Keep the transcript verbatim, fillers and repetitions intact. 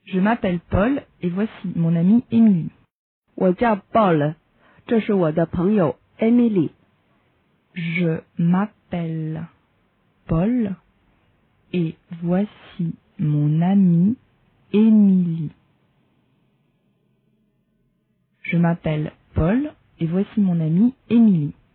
Je m'appelle Paul et voici mon amie Émilie. 我叫 Paul， 这是我的朋友 Emily。 Je m'appelle Paul et voici mon amie Émilie. Je m'appelle Paul et voici mon amie Émilie.